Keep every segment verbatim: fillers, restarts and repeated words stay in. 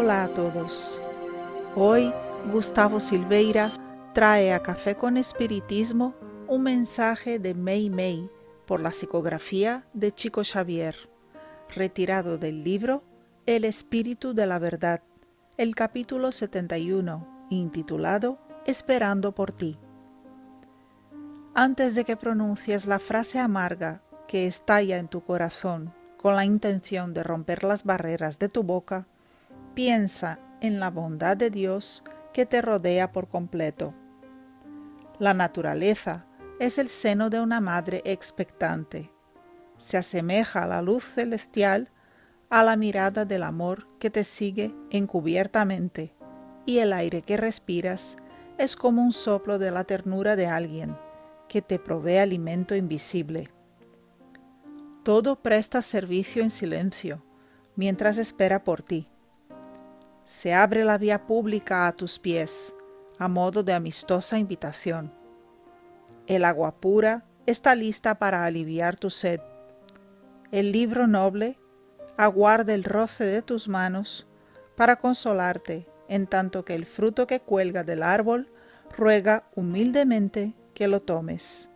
Hola a todos. Hoy Gustavo Silveira trae a Café con Espiritismo un mensaje de Mei Mei por la psicografía de Chico Xavier, retirado del libro El Espíritu de la Verdad, el capítulo setenta y uno, intitulado Esperando por ti. Antes de que pronuncies la frase amarga que estalla en tu corazón con la intención de romper las barreras de tu boca, piensa en la bondad de Dios que te rodea por completo. La naturaleza es el seno de una madre expectante. Se asemeja a la luz celestial, a la mirada del amor que te sigue encubiertamente, y el aire que respiras es como un soplo de la ternura de alguien que te provee alimento invisible. Todo presta servicio en silencio, mientras espera por ti. Se abre la vía pública a tus pies, a modo de amistosa invitación. El agua pura está lista para aliviar tu sed. El libro noble aguarda el roce de tus manos para consolarte, en tanto que el fruto que cuelga del árbol ruega humildemente que lo tomes.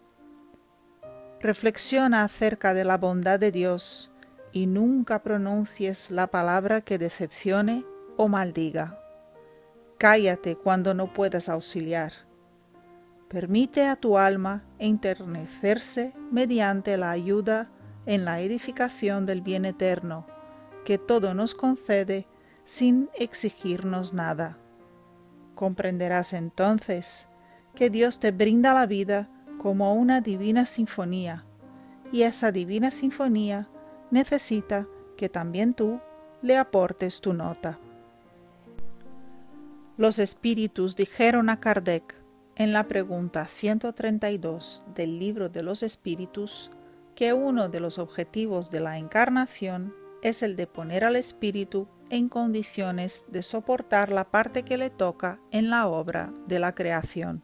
Reflexiona acerca de la bondad de Dios y nunca pronuncies la palabra que decepcione o maldiga. Cállate cuando no puedas auxiliar. Permite a tu alma enternecerse mediante la ayuda en la edificación del bien eterno, que todo nos concede sin exigirnos nada. Comprenderás entonces que Dios te brinda la vida como una divina sinfonía, y esa divina sinfonía necesita que también tú le aportes tu nota. Los espíritus dijeron a Kardec en la pregunta ciento treinta y dos del Libro de los Espíritus que uno de los objetivos de la encarnación es el de poner al espíritu en condiciones de soportar la parte que le toca en la obra de la creación.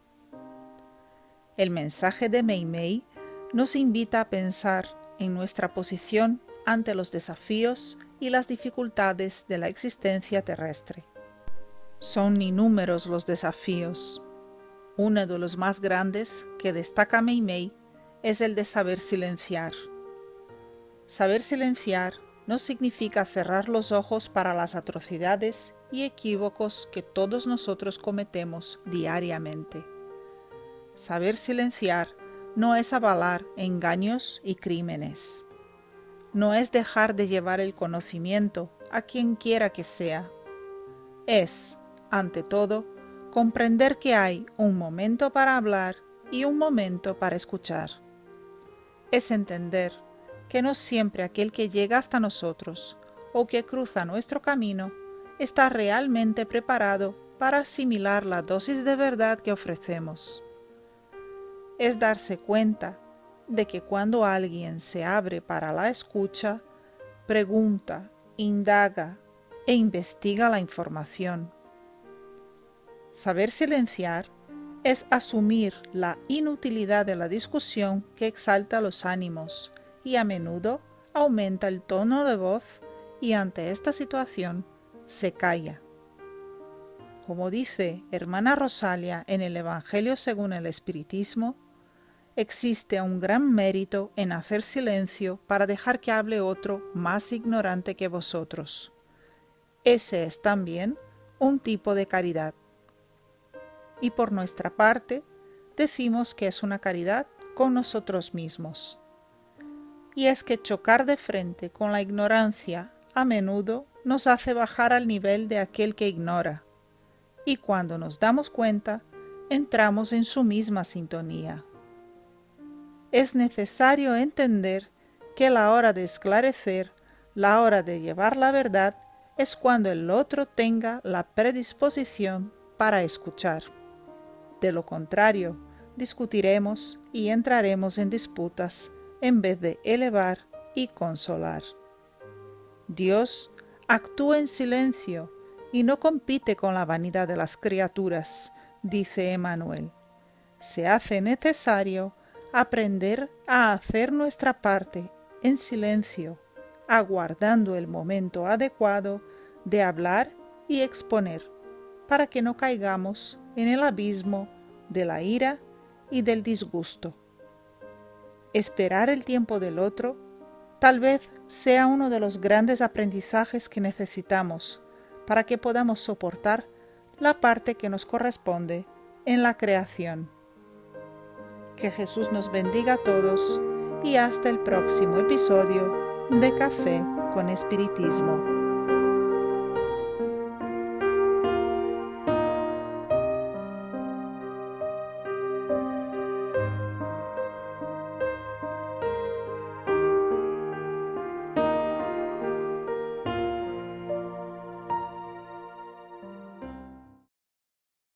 El mensaje de Mei Mei nos invita a pensar en nuestra posición ante los desafíos y las dificultades de la existencia terrestre. Son innúmeros los desafíos. Uno de los más grandes que destaca Mei Mei es el de saber silenciar. Saber silenciar no significa cerrar los ojos para las atrocidades y equívocos que todos nosotros cometemos diariamente. Saber silenciar no es avalar engaños y crímenes. No es dejar de llevar el conocimiento a quien quiera que sea. Es, ante todo, comprender que hay un momento para hablar y un momento para escuchar. Es entender que no siempre aquel que llega hasta nosotros o que cruza nuestro camino está realmente preparado para asimilar la dosis de verdad que ofrecemos. Es darse cuenta de que cuando alguien se abre para la escucha, pregunta, indaga e investiga la información. Saber silenciar es asumir la inutilidad de la discusión que exalta los ánimos y a menudo aumenta el tono de voz y ante esta situación se calla. Como dice Hermana Rosalia en el Evangelio según el Espiritismo, existe un gran mérito en hacer silencio para dejar que hable otro más ignorante que vosotros. Ese es también un tipo de caridad. Y por nuestra parte, decimos que es una caridad con nosotros mismos. Y es que chocar de frente con la ignorancia a menudo nos hace bajar al nivel de aquel que ignora. Y cuando nos damos cuenta, entramos en su misma sintonía. Es necesario entender que la hora de esclarecer, la hora de llevar la verdad, es cuando el otro tenga la predisposición para escuchar. De lo contrario, discutiremos y entraremos en disputas en vez de elevar y consolar. Dios actúa en silencio y no compite con la vanidad de las criaturas, dice Emmanuel. Se hace necesario aprender a hacer nuestra parte en silencio, aguardando el momento adecuado de hablar y exponer, para que no caigamos en el abismo de la ira y del disgusto. Esperar el tiempo del otro tal vez sea uno de los grandes aprendizajes que necesitamos para que podamos soportar la parte que nos corresponde en la creación. Que Jesús nos bendiga a todos y hasta el próximo episodio de Café con Espiritismo.